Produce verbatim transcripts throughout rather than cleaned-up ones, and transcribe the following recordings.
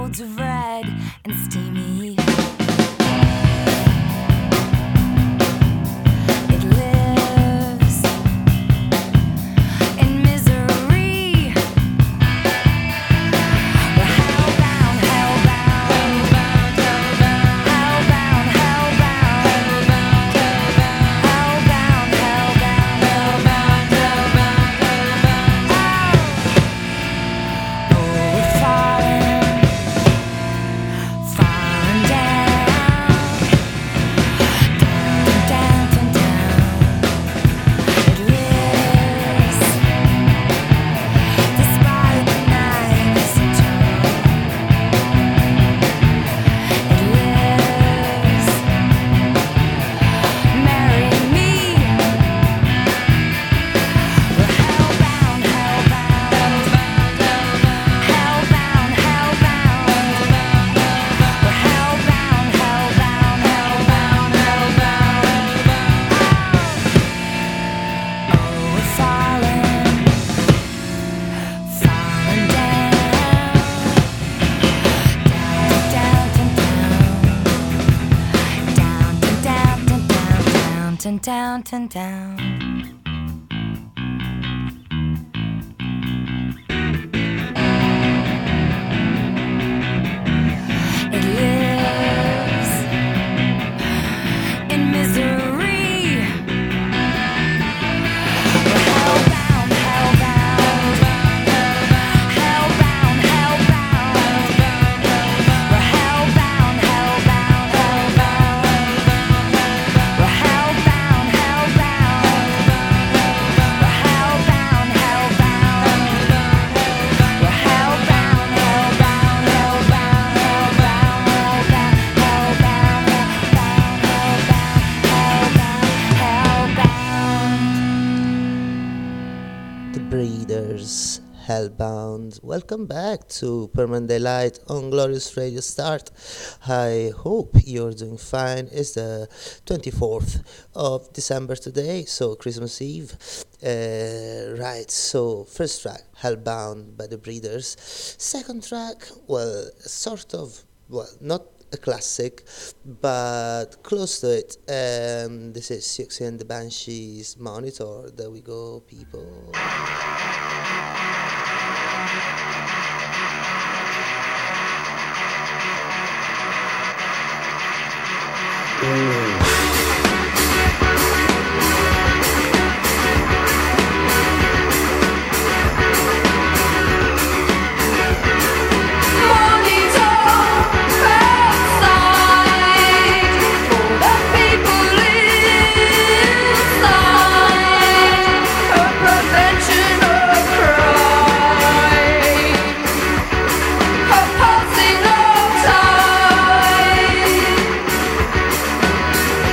fields of red and steamy. It lives in misery. We're hellbound, hellbound, hellbound, hellbound, hellbound, hellbound, hellbound, hellbound, hellbound. Oh, we're falling, falling down, down, down, down, down. It lives despite the nights and it lives. Marry me. We're hellbound, hellbound, hellbound, hellbound, hellbound. We're hellbound, hellbound, hellbound, hellbound. Oh, we're falling, falling down, down, down, down, down, down, down, down, down, down, down. It lives in misery. We're hellbound, hellbound, hellbound, hellbound. We're hellbound, hellbound, hellbound. We're hellbound, hellbound. We're hellbound, hellbound. We're hellbound, hellbound, hellbound, hellbound, hellbound, hellbound. The Breeders, Hellbound. Welcome back to Permanent Daylight on Glorious Radio Start. I hope you're doing fine. It's the twenty-fourth of December today, so Christmas Eve. Uh, right, so first track, Hellbound by the Breeders. Second track, well, sort of, well, not a classic, but close to it. Um, this is Siouxsie and the Banshees, Monitor. There we go, people. Passing of time.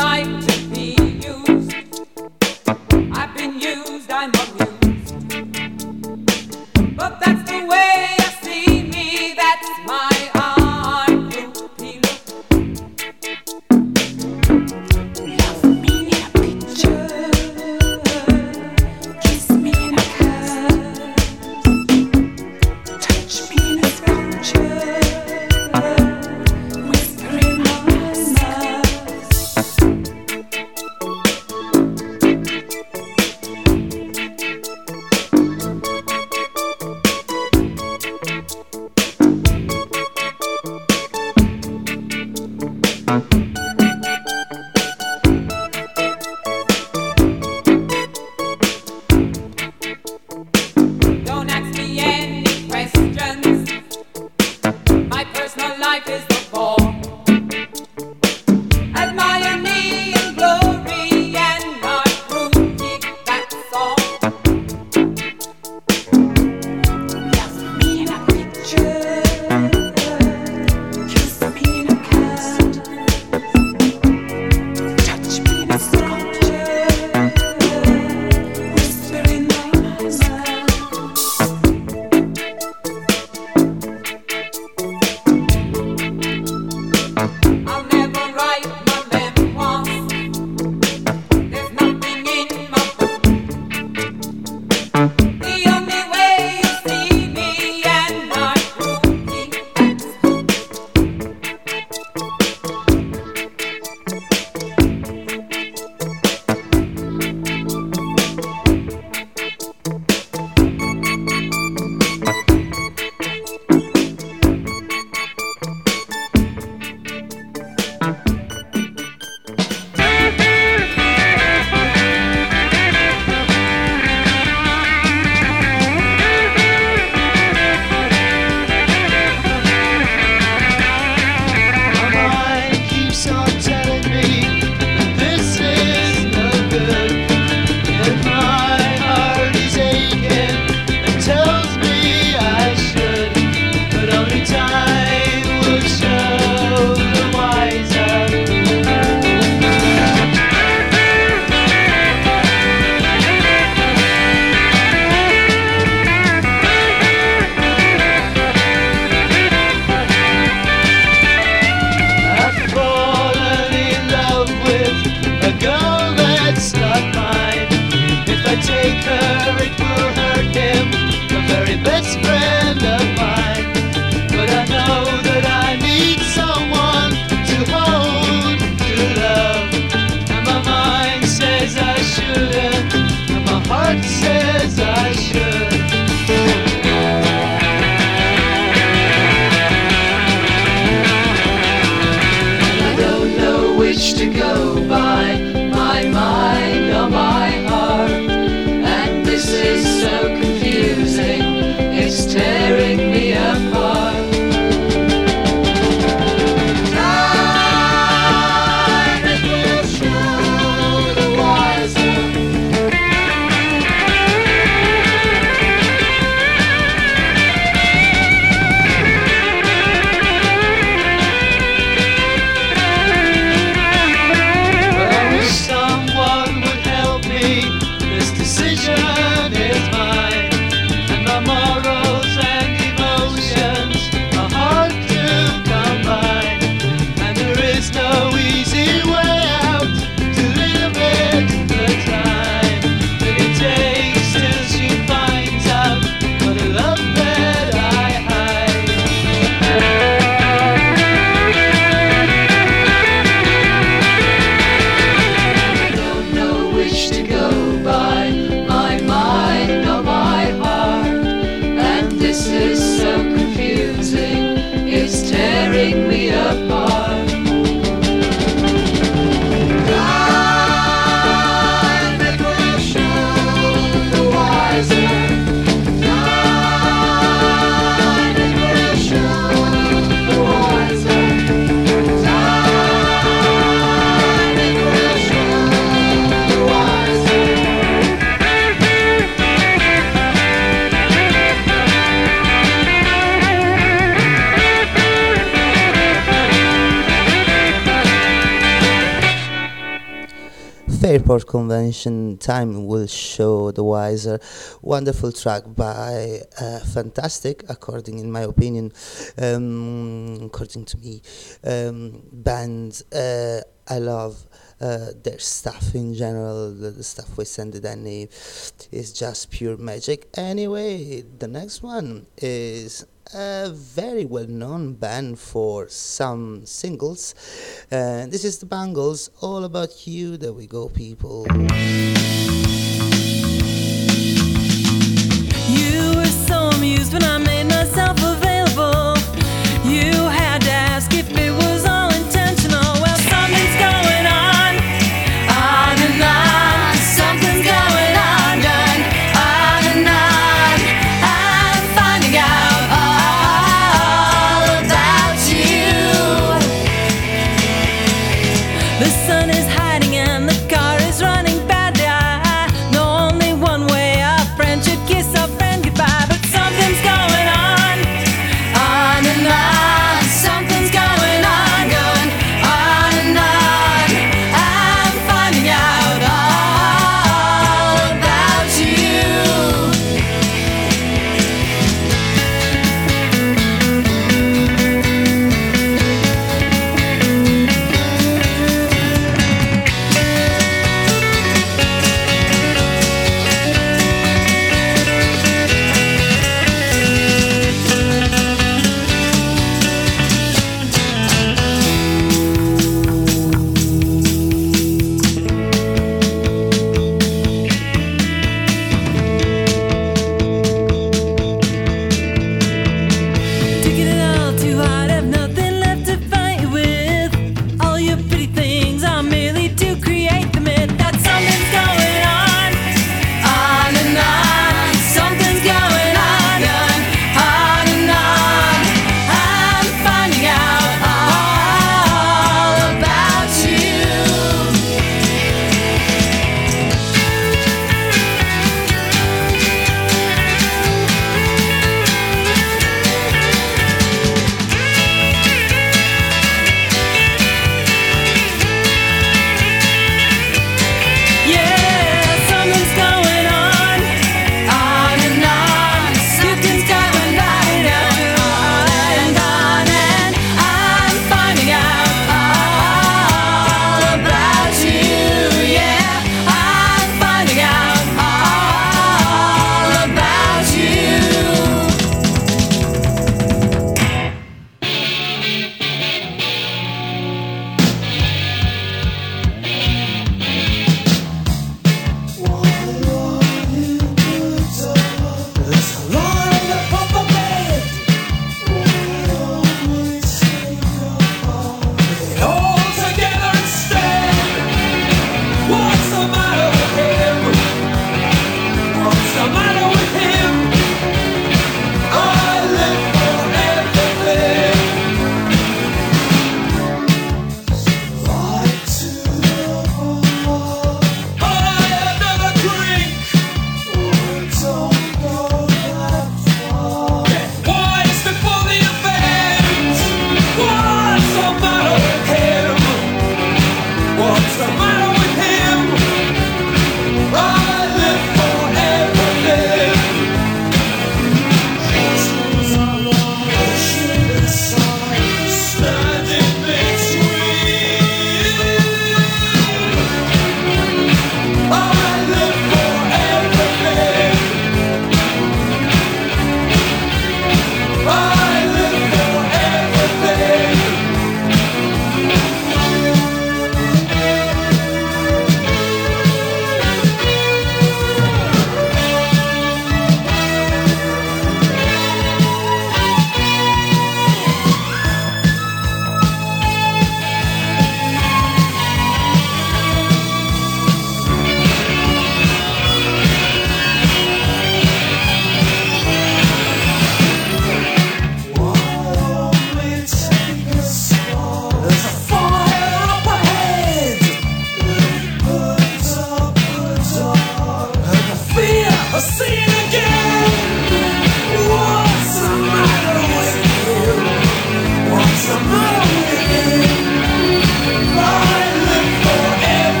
like to be used. I've been used, I'm amused. But that's the way you see me, that's my art groupie look. Love me in a picture, kiss me in a kiss, touch me in a sculpture, whisper in my mouth. Don't ask me any questions. My personal life is the ball. Admire me in glory and not rookie, that's all. Love me in a picture, kiss me in a kiss, touch me in a sculpture, whisper in my mouth. I'll never write my memoirs. There's nothing in my book. The only way you see me and not rookie, that's My mind keeps on telling me that this is no good, and my heart is aching and tells me I should, but only time will show the wiser. I've fallen in love with a girl that's not mine. If I take her, it will hurt him, the very best friend of mine. But I know that I need someone to hold, to love. And my mind says I shouldn't, and my heart says I should. I don't know which to go by, my mind or my heart. And this is so confusing, it's tearing me apart. Time it will show the wiser. But I wish someone would help me. This decision is mine, and my morals and emotions are hard to combine. And there is no easy way out to limit the time that it takes till she finds out what a love that I hide. I don't know which to go by, my mind or my heart. And this is so confusing, it's tearing me apart. Time it will show the wiser. Time it will show the wiser. Time it will show the wiser. Fairport Convention, time will show the wiser. Wonderful track by uh, fantastic, according in my opinion, um, according to me, um, band. Uh, I love uh, their stuff in general. The, the stuff we send to Danny is just pure magic. Anyway, the next one is a very well-known band for some singles. Uh, this is the Bangles, All About You. There we go, people. You were so amused when I made myself available. You had to ask if it was all intentional. Well, something's going on, on and on. Something's going on, done, on and on. I'm finding out all about you. The sun is hiding and the car is running badly. I know only one way a friend should kiss a friend goodbye, but something's going on.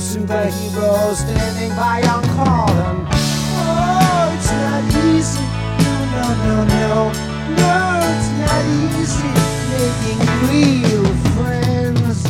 superhero standing by on call. And oh, it's not easy. No, no, no, no. No, it's not easy making real friends.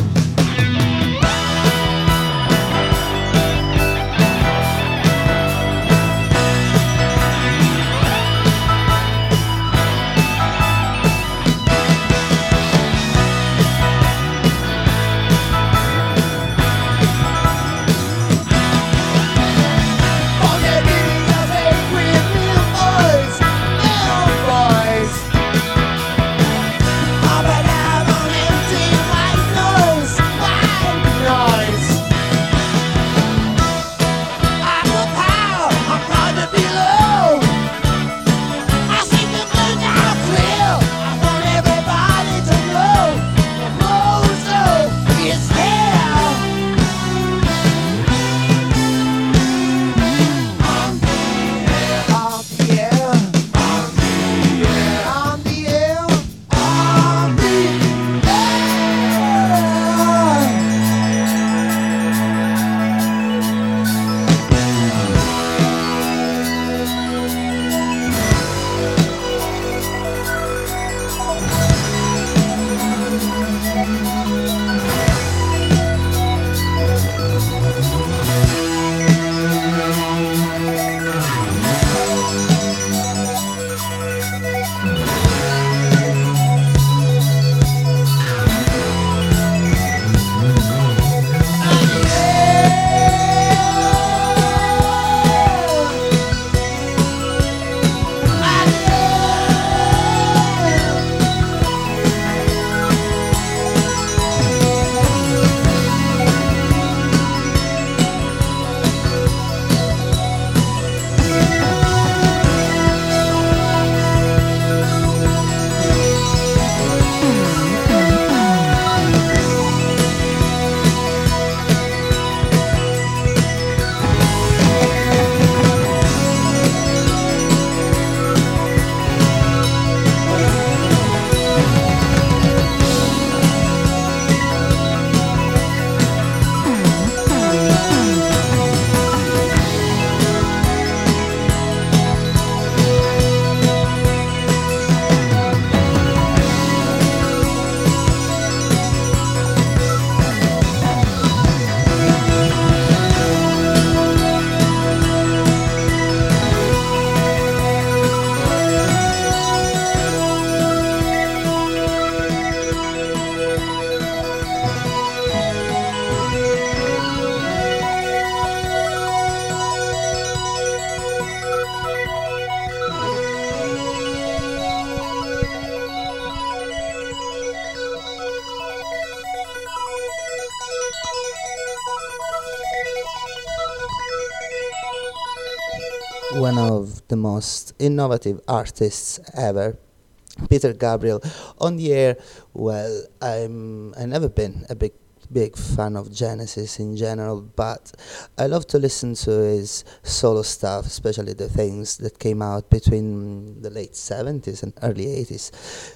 One of the most innovative artists ever, Peter Gabriel, on the air. Well, I'm I never been a big big fan of Genesis in general, but I love to listen to his solo stuff, especially the things that came out between the late seventies and early eighties.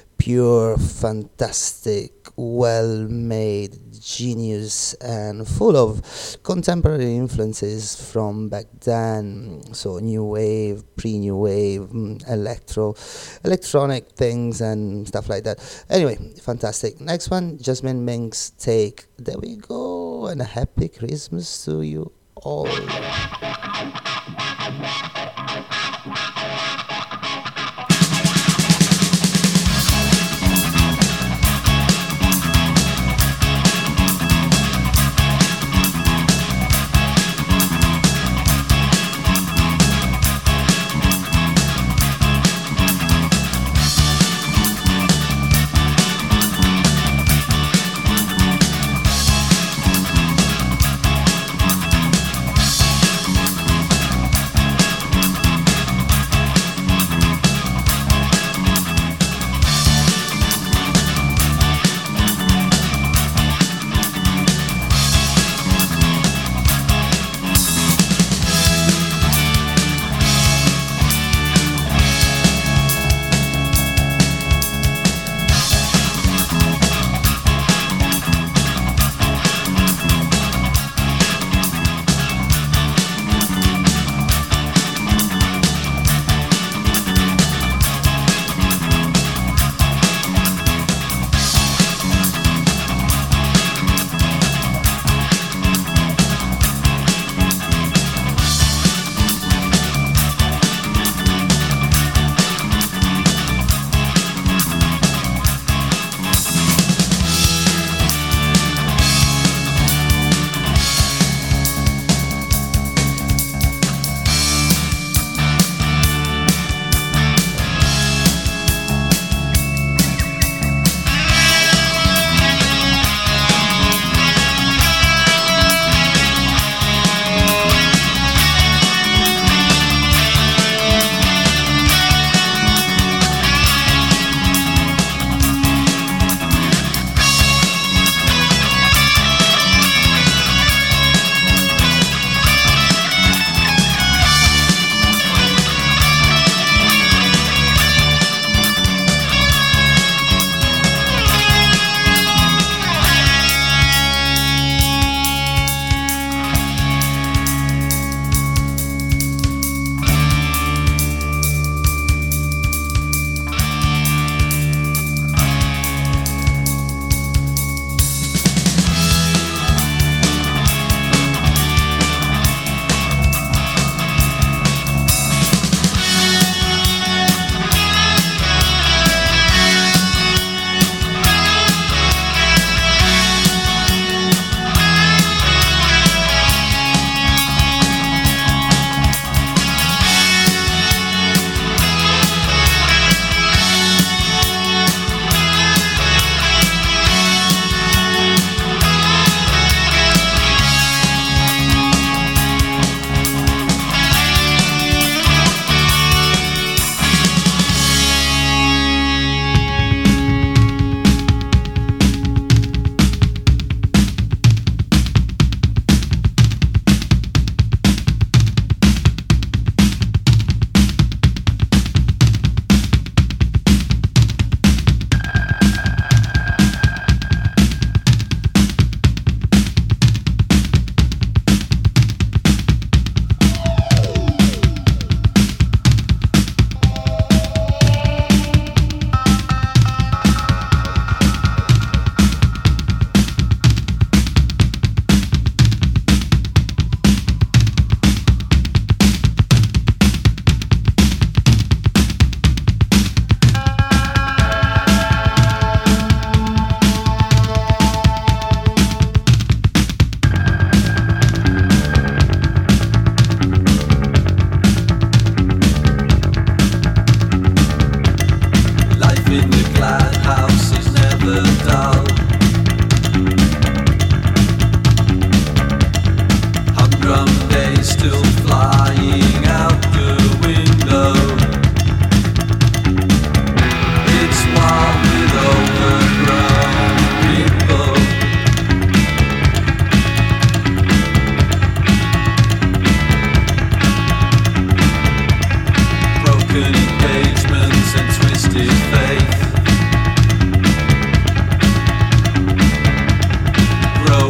Pure, fantastic, well-made, genius, and full of contemporary influences from back then. So new wave, pre-new wave, mm, electro, electronic things and stuff like that. Anyway, fantastic. Next one, Jasmine Mink's Take. There we go, and a happy Christmas to you all. Thank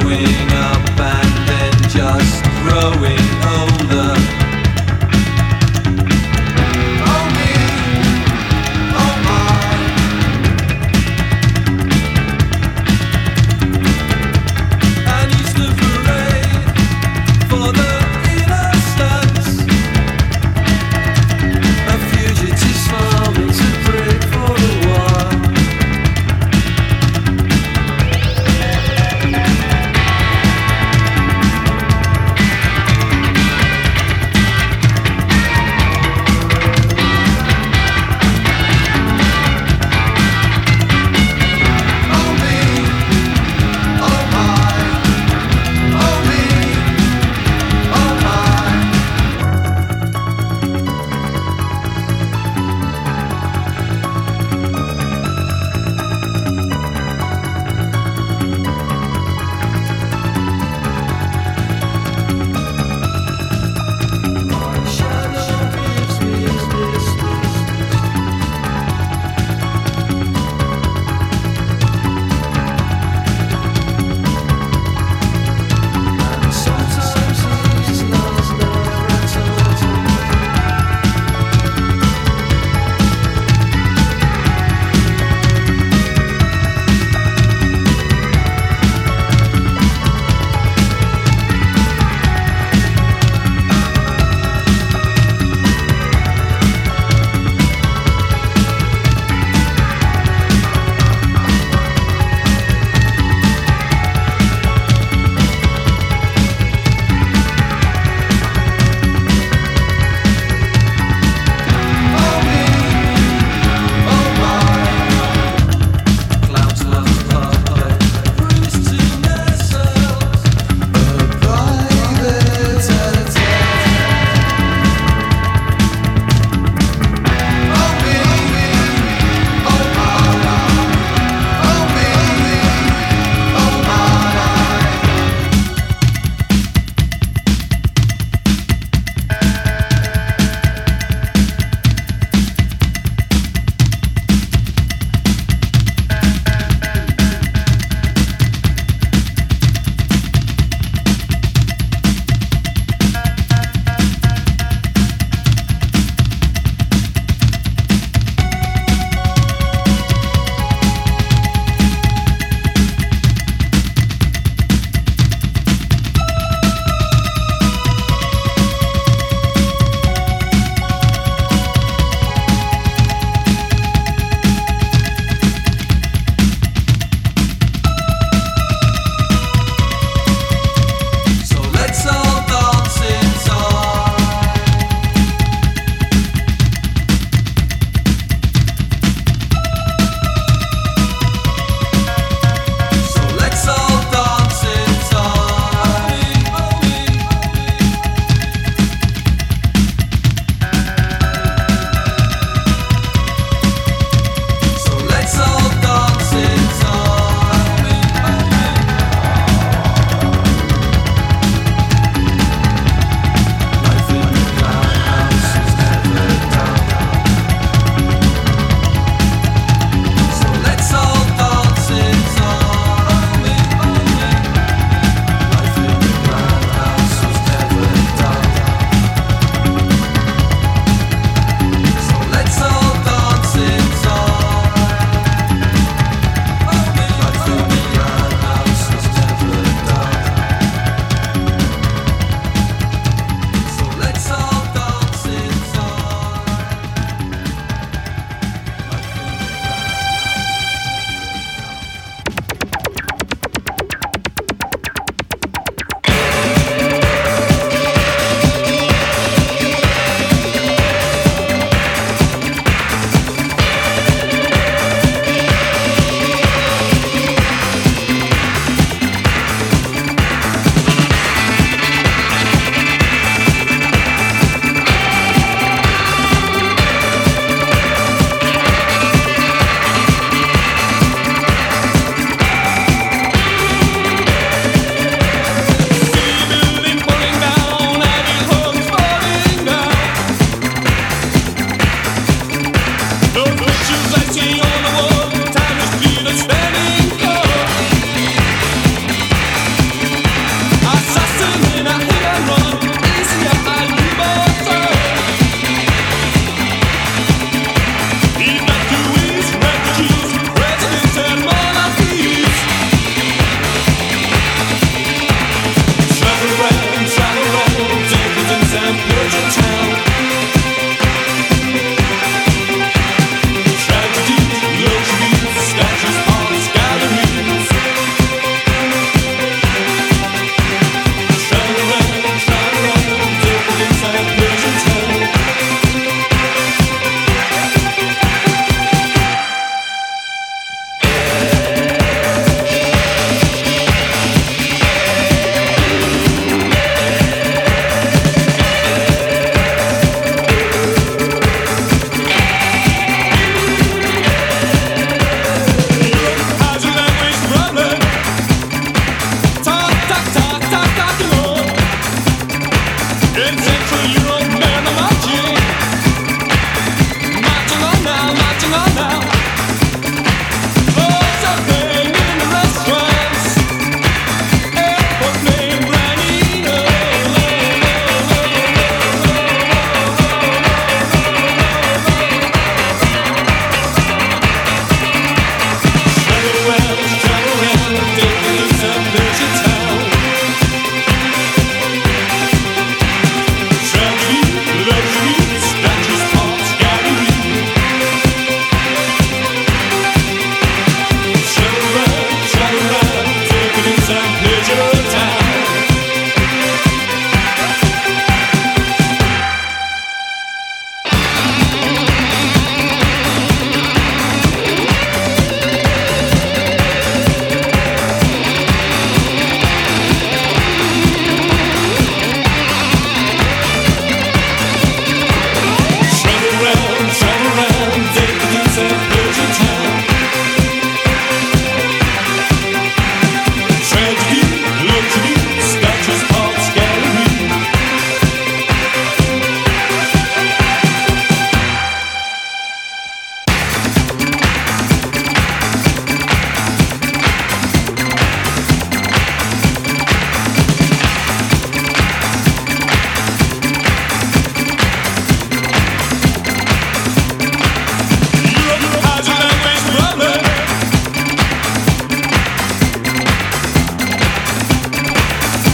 growing up and then just growing older. Oh me, oh my. An Easter parade for the innocents. A fugitive smile makes a break for a while.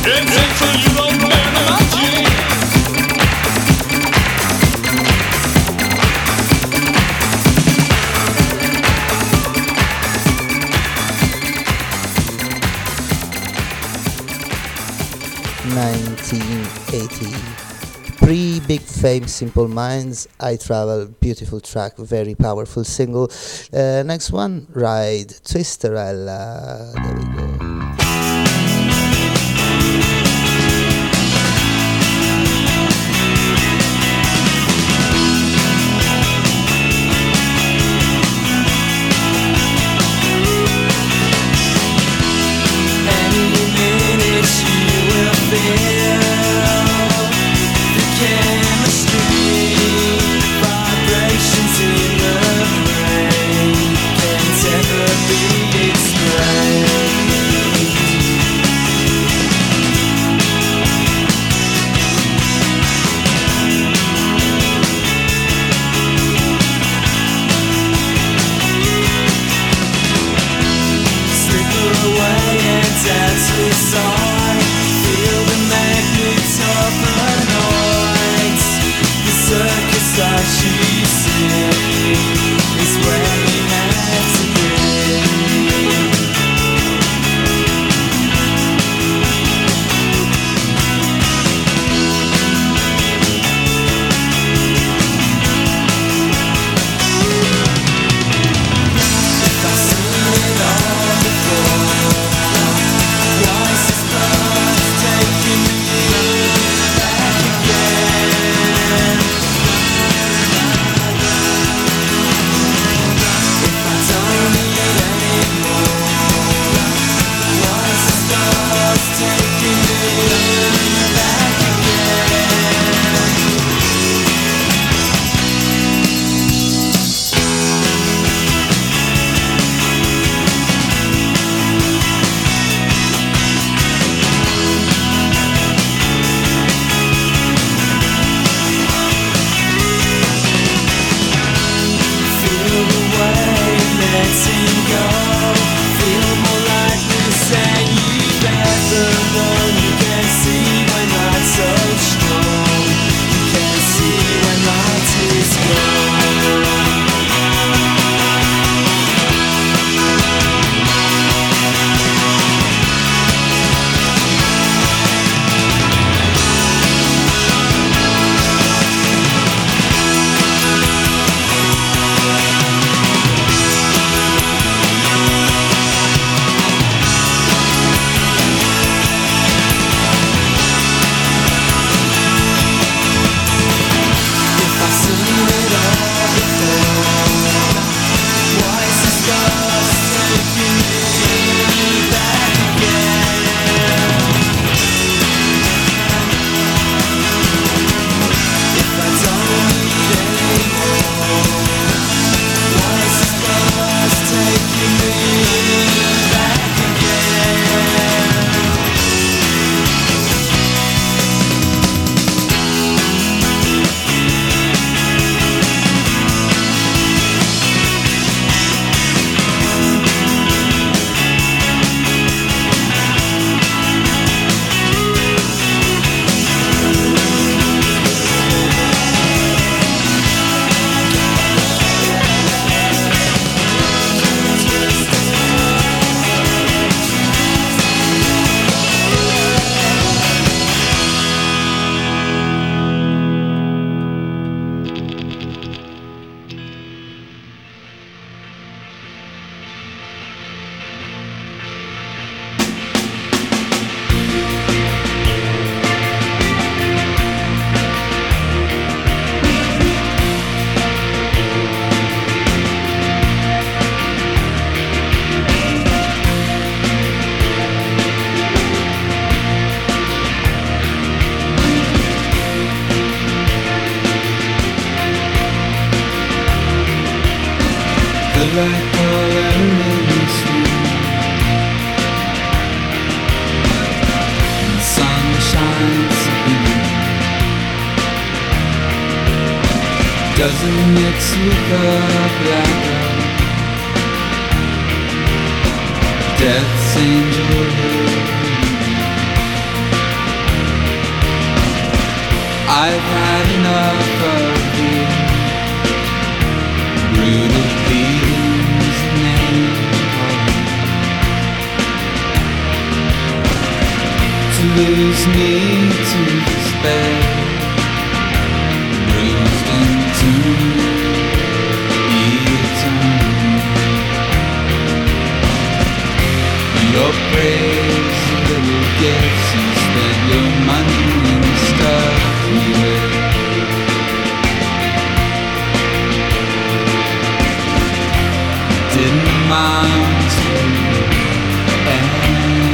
nineteen eighty. Pre Big Fame, Simple Minds, I Travel, beautiful track, very powerful single. Uh, next one, Ride, Twisterella. There we go. Any minute you will feel the chemistry, vibrations in the brain can't ever be explained. Slip away and dance with side. Feel the magnets of the night. The circus that you see is where you have to be. If I've seen it all before, why is this love taking me back again? If I don't need it anymore, why is this love taking me back again? Feel the wave letting go. Feel more like this than you've ever known. You can see when I'm so strong. You can see when light is gone. If I've seen it all before, why is this love taking me back again? If I don't need it anymore, why is this love taking me back again? The light color in the street, the sun shines in. Doesn't mix with the black of death's angel. half of the brutal things name to lose me to despair, bruised into eternity. Your praise, little gifts, you spend your money and stuff you with. Didn't amount to anything.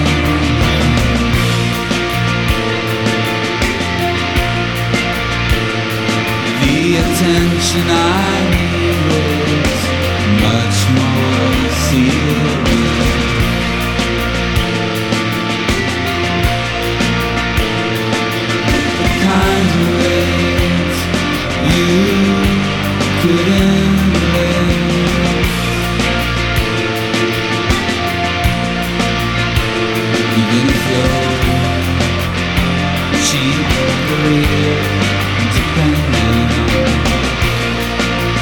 The attention I need is much more serious. The kind of ways you couldn't live. Even if you're cheap, career, dependent on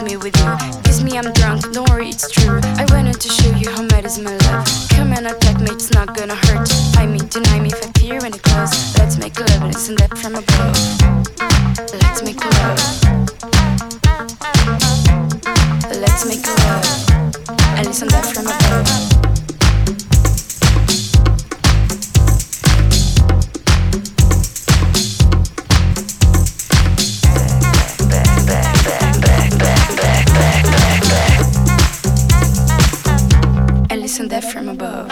me with you. Kiss me, I'm drunk, don't worry, it's true. I wanted to show you how mad is my love. Come and attack me, it's not gonna hurt. I mean, deny me if I fear when it close. Let's make love and listen that from above. Let's make love. Let's make love and listen that from above. Listen that from above.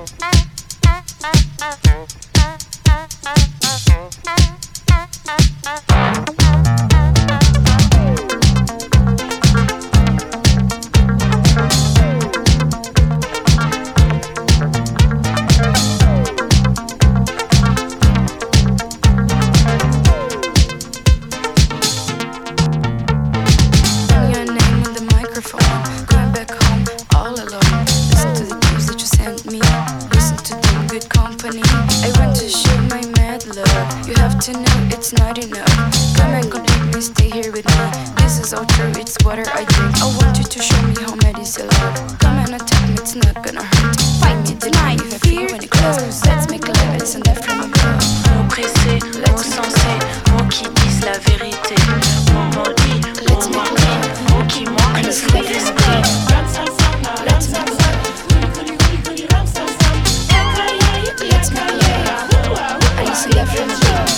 Your name on the microphone, going back home all alone. Listen to the news that you sent me. Listen to the good company. I want to show my mad love. You have to know it's not enough. Come and complete me, stay here with me. This is all true, it's water I drink. I want you to show me how mad is your love. Come and attack me, it's not gonna hurt. Fight me, deny me if I fear when it closes. Let's make love and listen that from above. Mots pressés, mots sensés, mots qui disent la vérité. Mots maudits, mots manqués, mots qui manquent le fruit d'esprit. Let's make love. Let's make love. I listen that from above.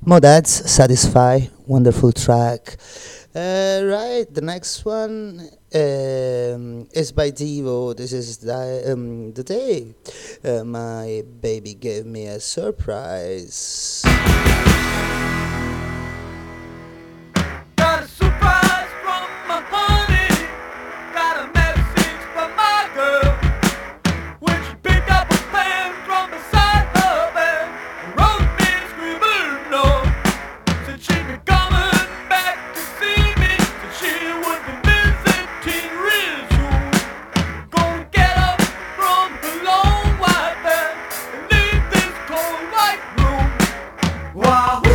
Modad's Satisfy, wonderful track. Uh, right, the next one um, is by Devo. This is the, um, the day uh, my baby gave me a surprise. Got a surprise from my honey. Got a message from my girl. When she picked up a pen from beside her bed and wrote me a scribbled note. Said she'd be coming back to see me. Said she would be visiting real soon. Gonna get up from her long white bed and leave this cold white room. Wahoo!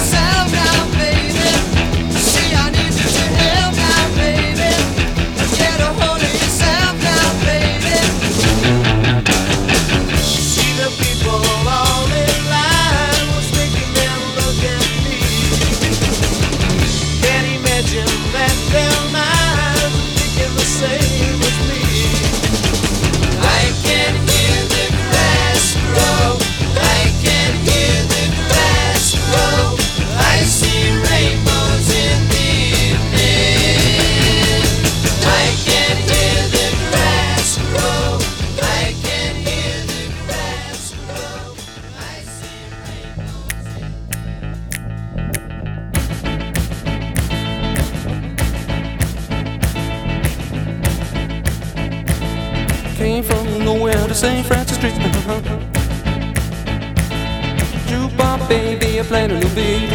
Get came from nowhere to Saint Francis Street. Jukebox baby, I played a new beat.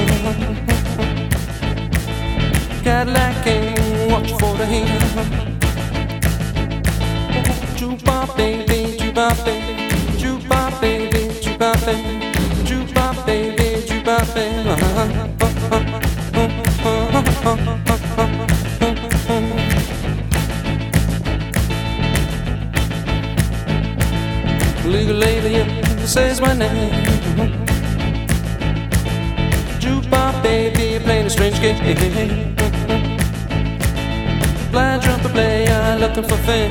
Cadillac came, watch for the heat. Jukebox baby, jukebox baby, jukebox baby, jukebox baby, jukebox baby, jukebox baby. Legal lady says my name. Jukebox baby, playing a strange game. Blind trumpet player looking for fame.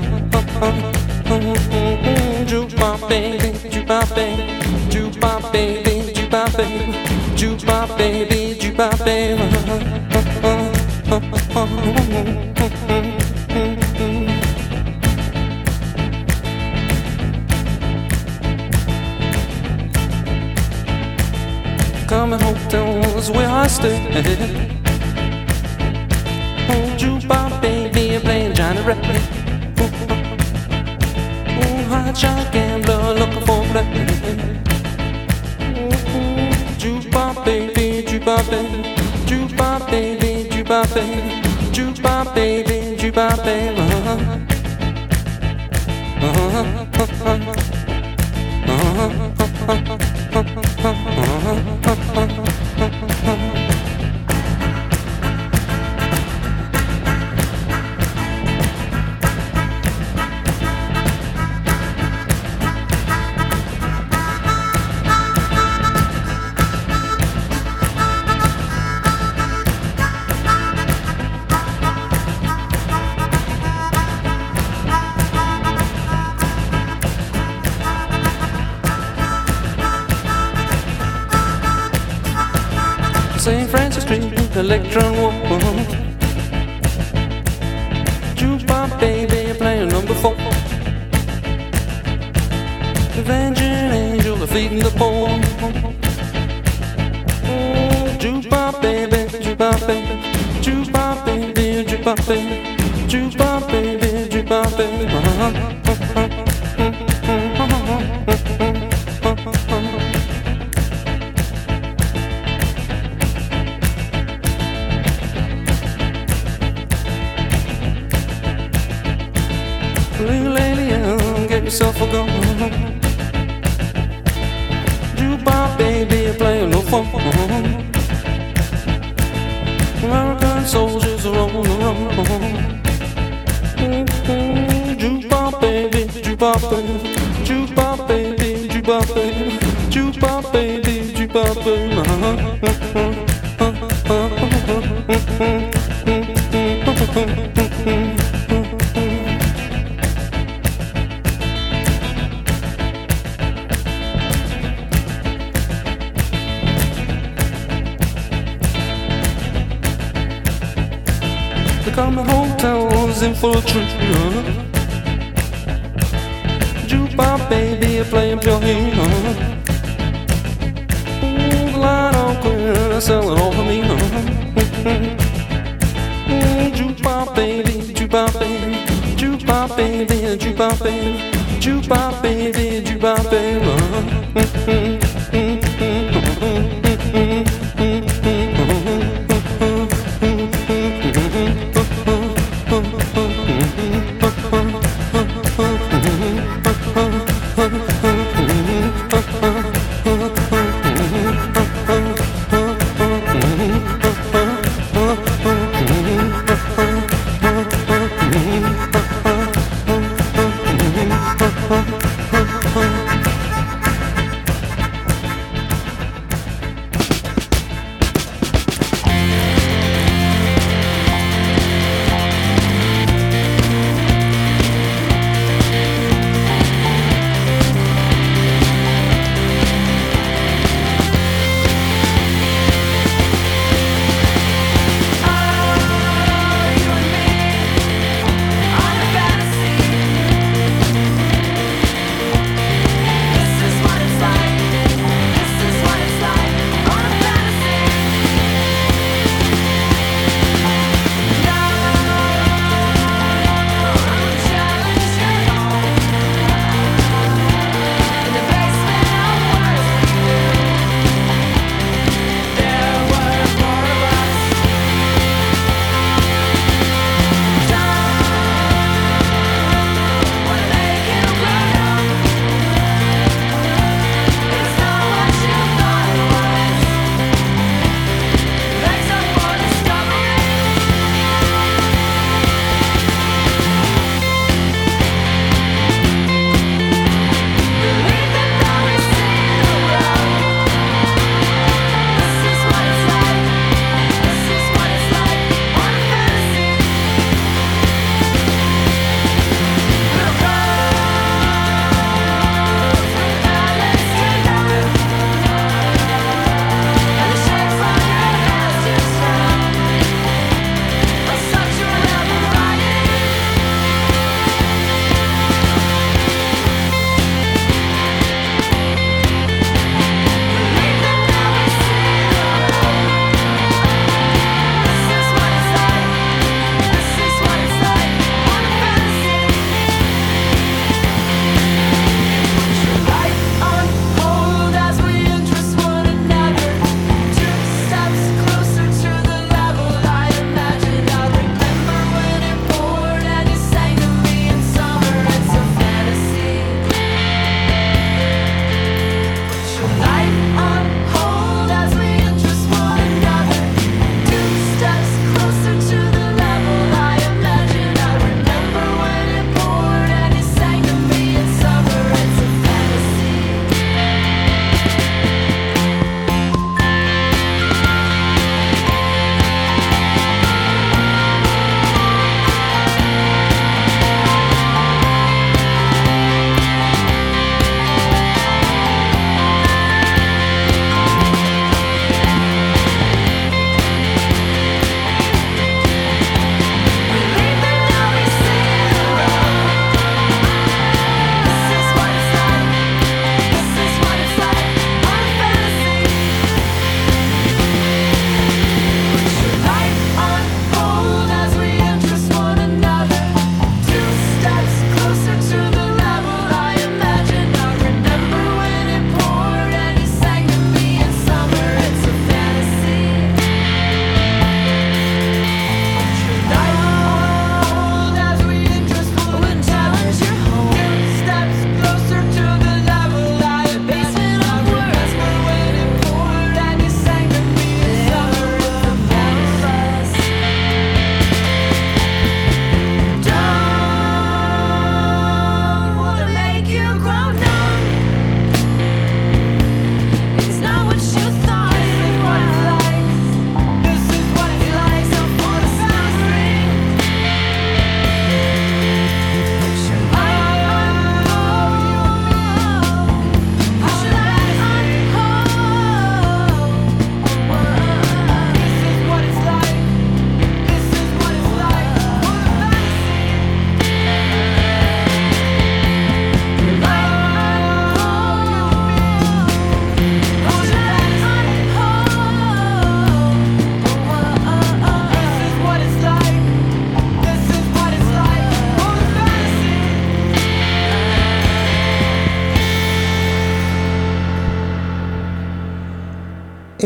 Jukebox baby, jukebox baby, jukebox baby, jukebox baby, jukebox baby, jukebox baby. Coming hotel was where I stayed. Oh, jukebox baby, playing Johnny Ray. Oh, hot shot gambler looking for play. Jukebox baby, jukebox baby, jukebox baby, jukebox baby, jukebox baby, jukebox baby. Uh-huh. Uh-huh. Uh-huh. Saint Francis Street, Electron Walk. Jukebox baby, playing number four. Avenging angel, feeding the poor. Oh, jukebox baby, jukebox baby, jukebox baby, jukebox baby, jukebox baby, jukebox baby. Uh-huh. Little lady, get yourself a gun. Jukebox baby, playing no fun. American soldiers are on the run. Jukebox baby, jukebox baby, jukebox baby, jukebox baby, jukebox baby, jukebox baby. Coming hotels in full tree. Jukebox baby, playing pure heat. Ooh, the light on clear, selling all for me. Ooh, jukebox baby, jukebox baby, jukebox baby, jukebox baby, jukebox baby, jukebox baby.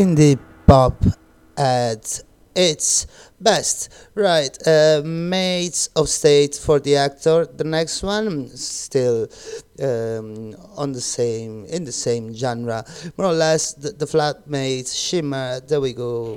indie pop at its best. Right, uh, Mates of State for the Actor. The next one, still um, on the same in the same genre, more or less. The, the Flatmates, Shimmer. There we go.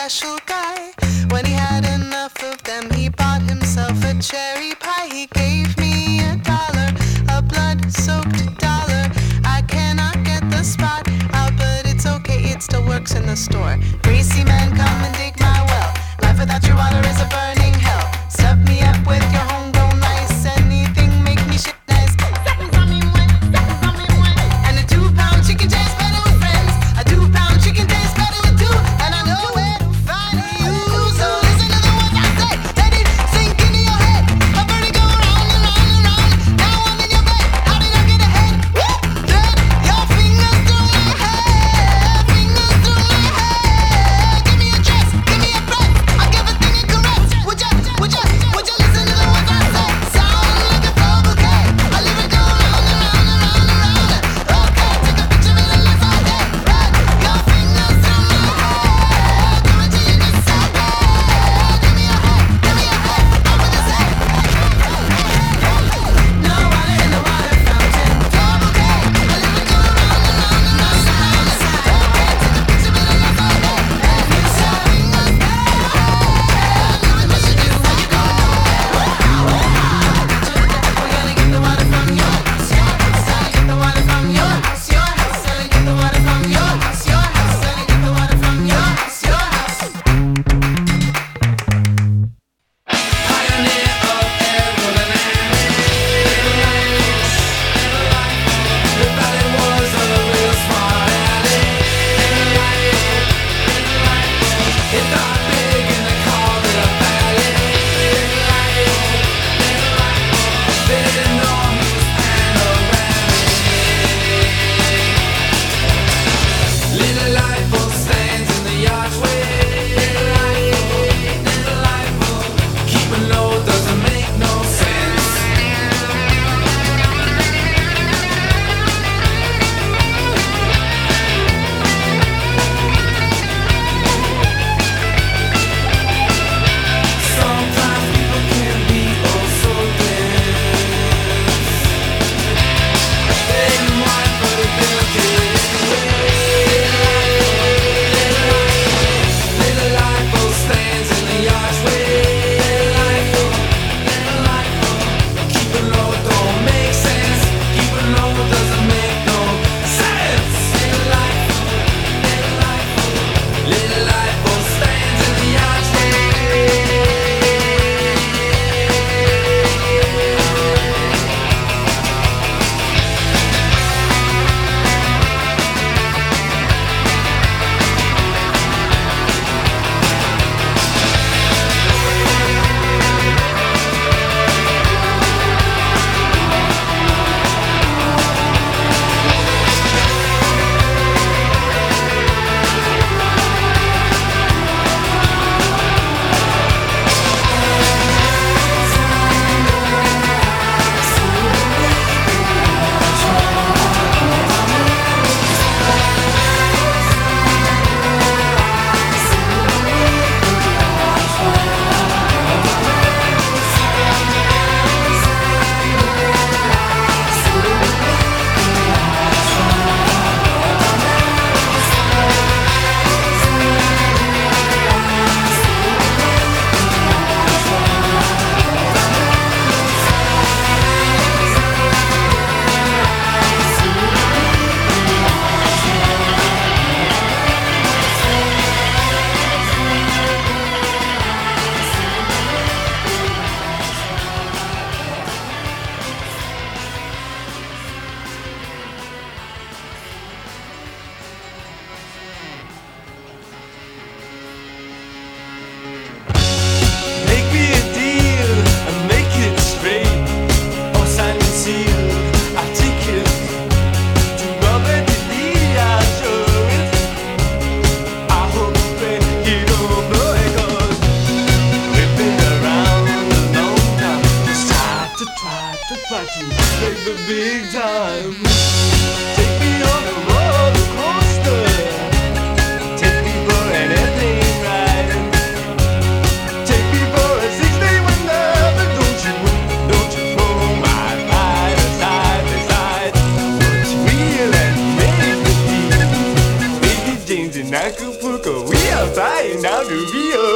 special guy. When he had enough of them, he bought himself a cherry pie. He gave me a dollar, a blood-soaked dollar. I cannot get the spot out, but it's okay, it still works in the store. Greasy man, come and dig my well. Life without your water is a burning hell. Stuff me up with your homegrown ice. Anything make me shit nice. And a two-pound chicken tastes better with friends. A two-pound chicken tastes better with two. And I know where to find you. So listen to the words I say. Let it sink into your head. A birdie go round and round and round. Now I'm in your bed. How did I get ahead? Woo! Then your fingers through my hair. Fingers through my hair. Acapulco, we are flying down to Rio.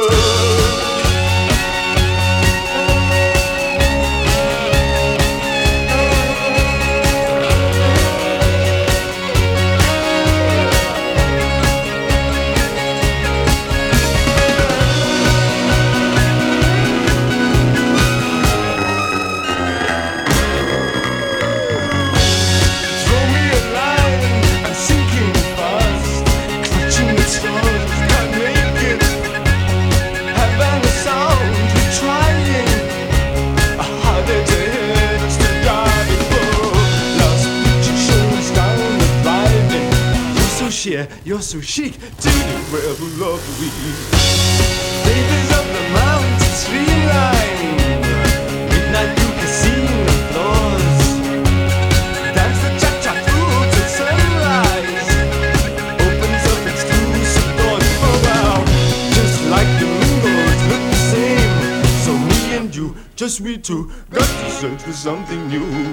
You're so chic, to the world lovely. Babies of the mountain streamline, midnight through casino floors. Dance the cha-cha through till sunrise. Opens up exclusive doors. Oh wow, just like the windows look the same. So me and you, just we two, got to search for something new.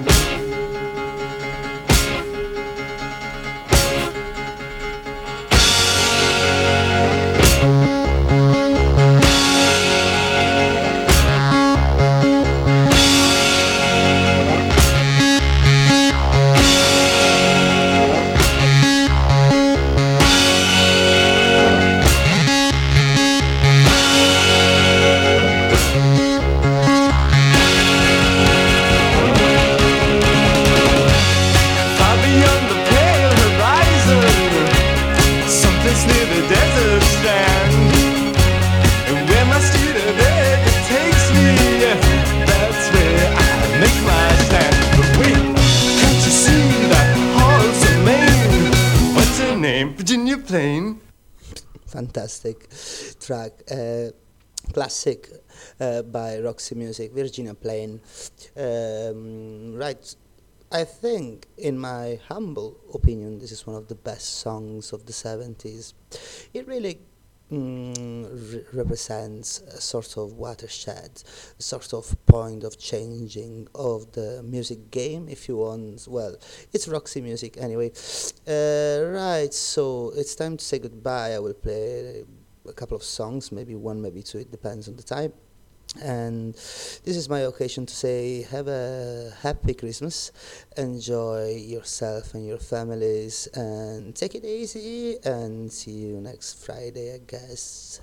Virginia Plain. Fantastic track, uh, classic uh, by Roxy Music, Virginia Plain. Um, right, I think, in my humble opinion, this is one of the best songs of the seventies. It really Mm, re- represents a sort of watershed, a sort of point of changing of the music game, if you want. Well, it's Roxy Music anyway. Uh, right, so it's time to say goodbye. I will play a couple of songs, maybe one, maybe two, it depends on the time. And this is my occasion to say have a happy Christmas, enjoy yourself and your families, and take it easy, and see you next Friday, I guess.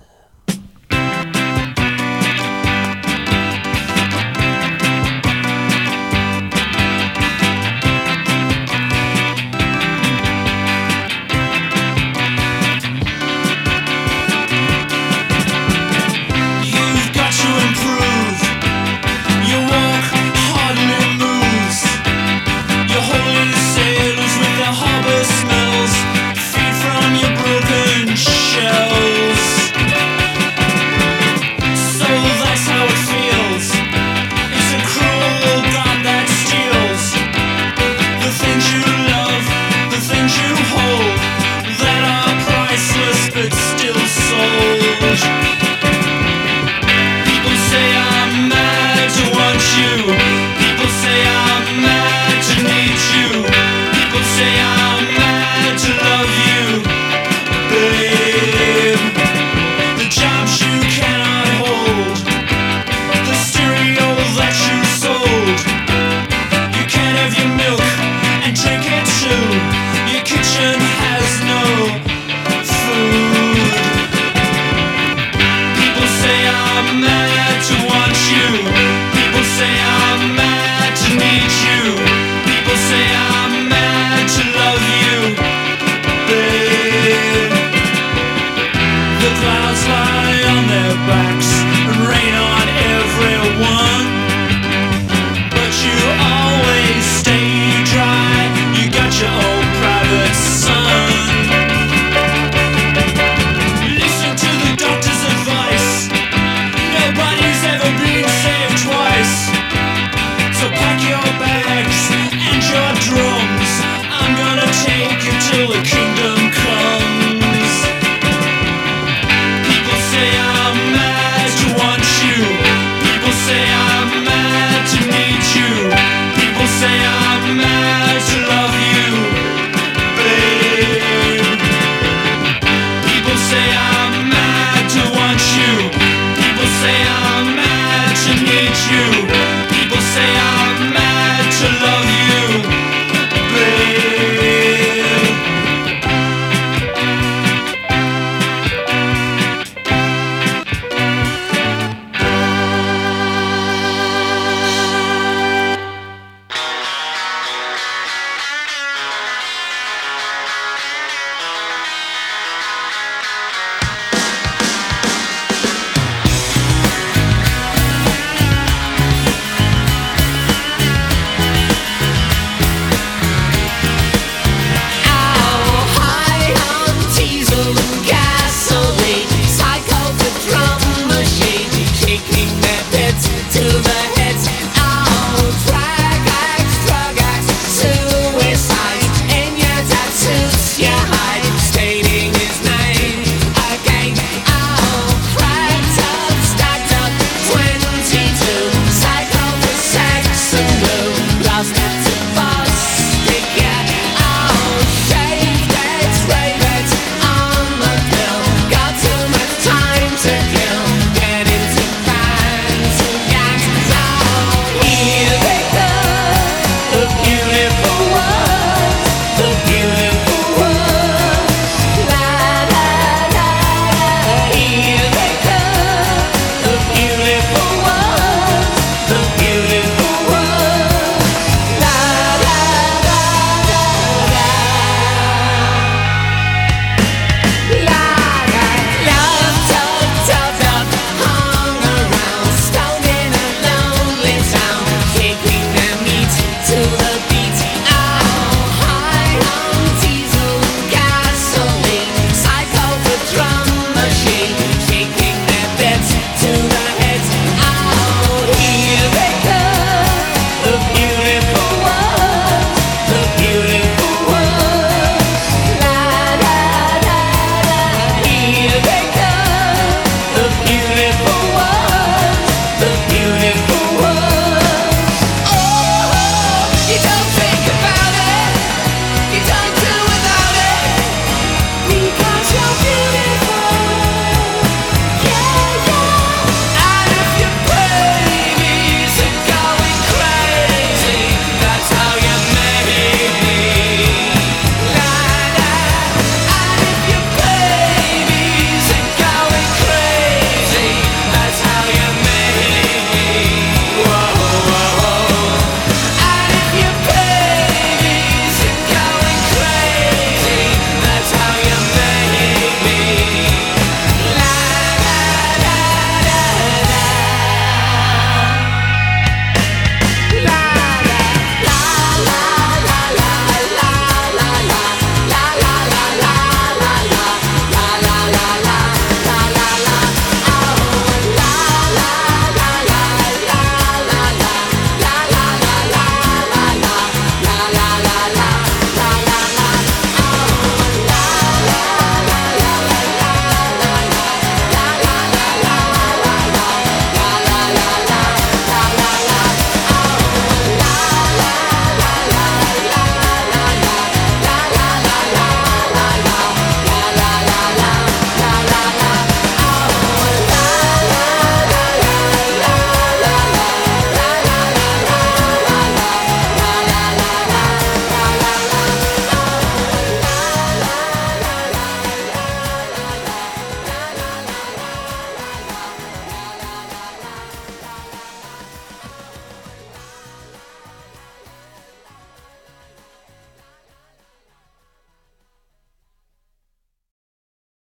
Clouds lie on their backs.